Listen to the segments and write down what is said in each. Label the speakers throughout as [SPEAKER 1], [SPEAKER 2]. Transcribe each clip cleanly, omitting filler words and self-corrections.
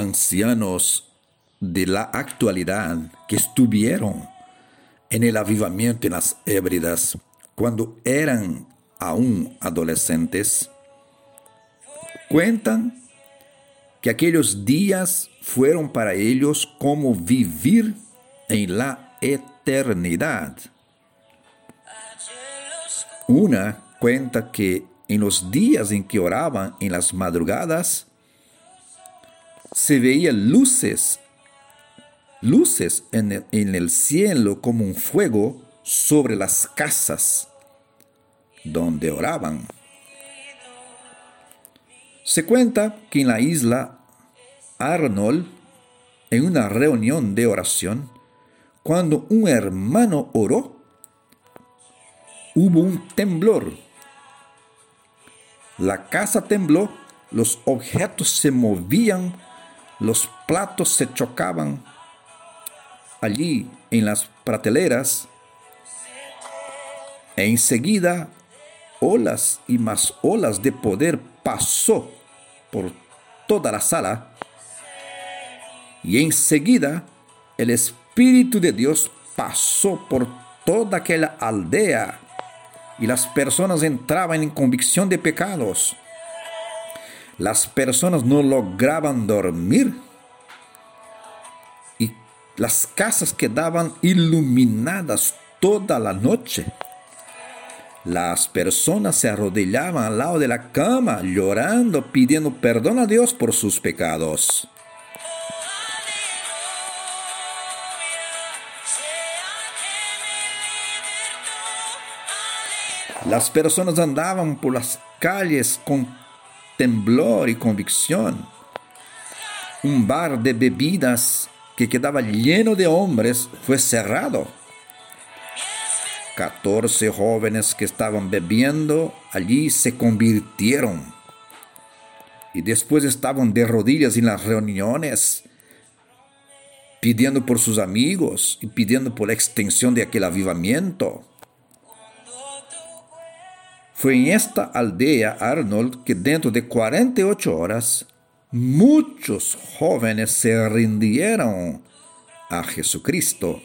[SPEAKER 1] ancianos de la actualidad que estuvieron en el avivamiento en las Hébridas cuando eran aún adolescentes, cuentan que aquellos días fueron para ellos como vivir en la eternidad. Una cuenta que en los días en que oraban en las madrugadas, se veían luces en el cielo como un fuego sobre las casas donde oraban. Se cuenta que en la isla Arnold, en una reunión de oración, cuando un hermano oró, hubo un temblor. La casa tembló, los objetos se movían, los platos se chocaban. Allí en las prateleras, e enseguida olas y más olas de poder pasó por toda la sala, y enseguida el Espíritu de Dios pasó por toda aquella aldea, y las personas entraban en convicción de pecados. Las personas no lograban dormir, y las casas quedaban iluminadas toda la noche. Las personas se arrodillaban al lado de la cama, llorando, pidiendo perdón a Dios por sus pecados. Las personas andaban por las calles con temblor y convicción. Un bar de bebidas que quedaba lleno de hombres fue cerrado. 14 jóvenes que estaban bebiendo allí se convirtieron. Y después estaban de rodillas en las reuniones, pidiendo por sus amigos y pidiendo por la extensión de aquel avivamiento. Fue en esta aldea Arnold que dentro de 48 horas muchos jóvenes se rindieron a Jesucristo.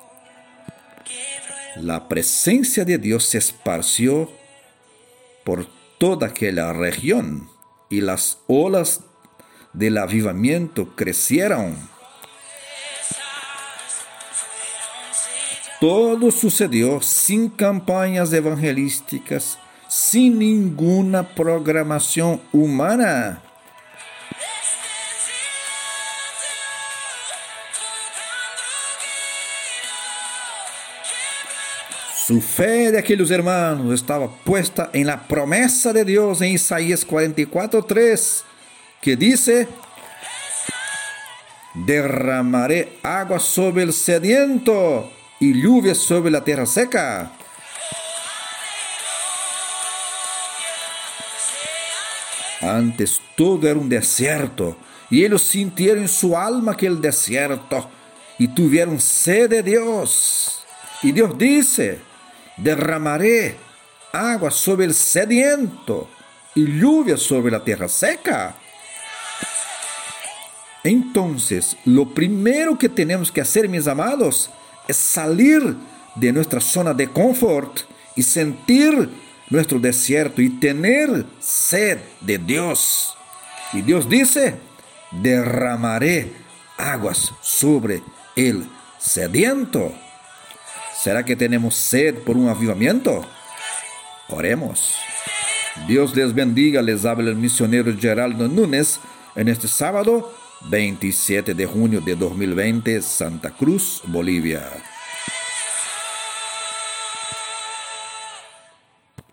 [SPEAKER 1] La presencia de Dios se esparció por toda aquella región y las olas del avivamiento crecieron. Todo sucedió sin campañas evangelísticas, sin ninguna programación humana. Su fe de aquellos hermanos estaba puesta en la promesa de Dios en Isaías 44:3, que dice: derramaré agua sobre el sediento y lluvia sobre la tierra seca. Antes todo era un desierto, y ellos sintieron en su alma aquel desierto, y tuvieron sed de Dios. Y Dios dice: derramaré agua sobre el sediento y lluvia sobre la tierra seca. Entonces, lo primero que tenemos que hacer, mis amados, es salir de nuestra zona de confort y sentir nuestro desierto y tener sed de Dios. Y Dios dice: derramaré aguas sobre el sediento. ¿Será que tenemos sed por un avivamiento? Oremos. Dios les bendiga. Les habla el misionero Geraldo Núñez en este sábado 27 de junio de 2020, Santa Cruz, Bolivia.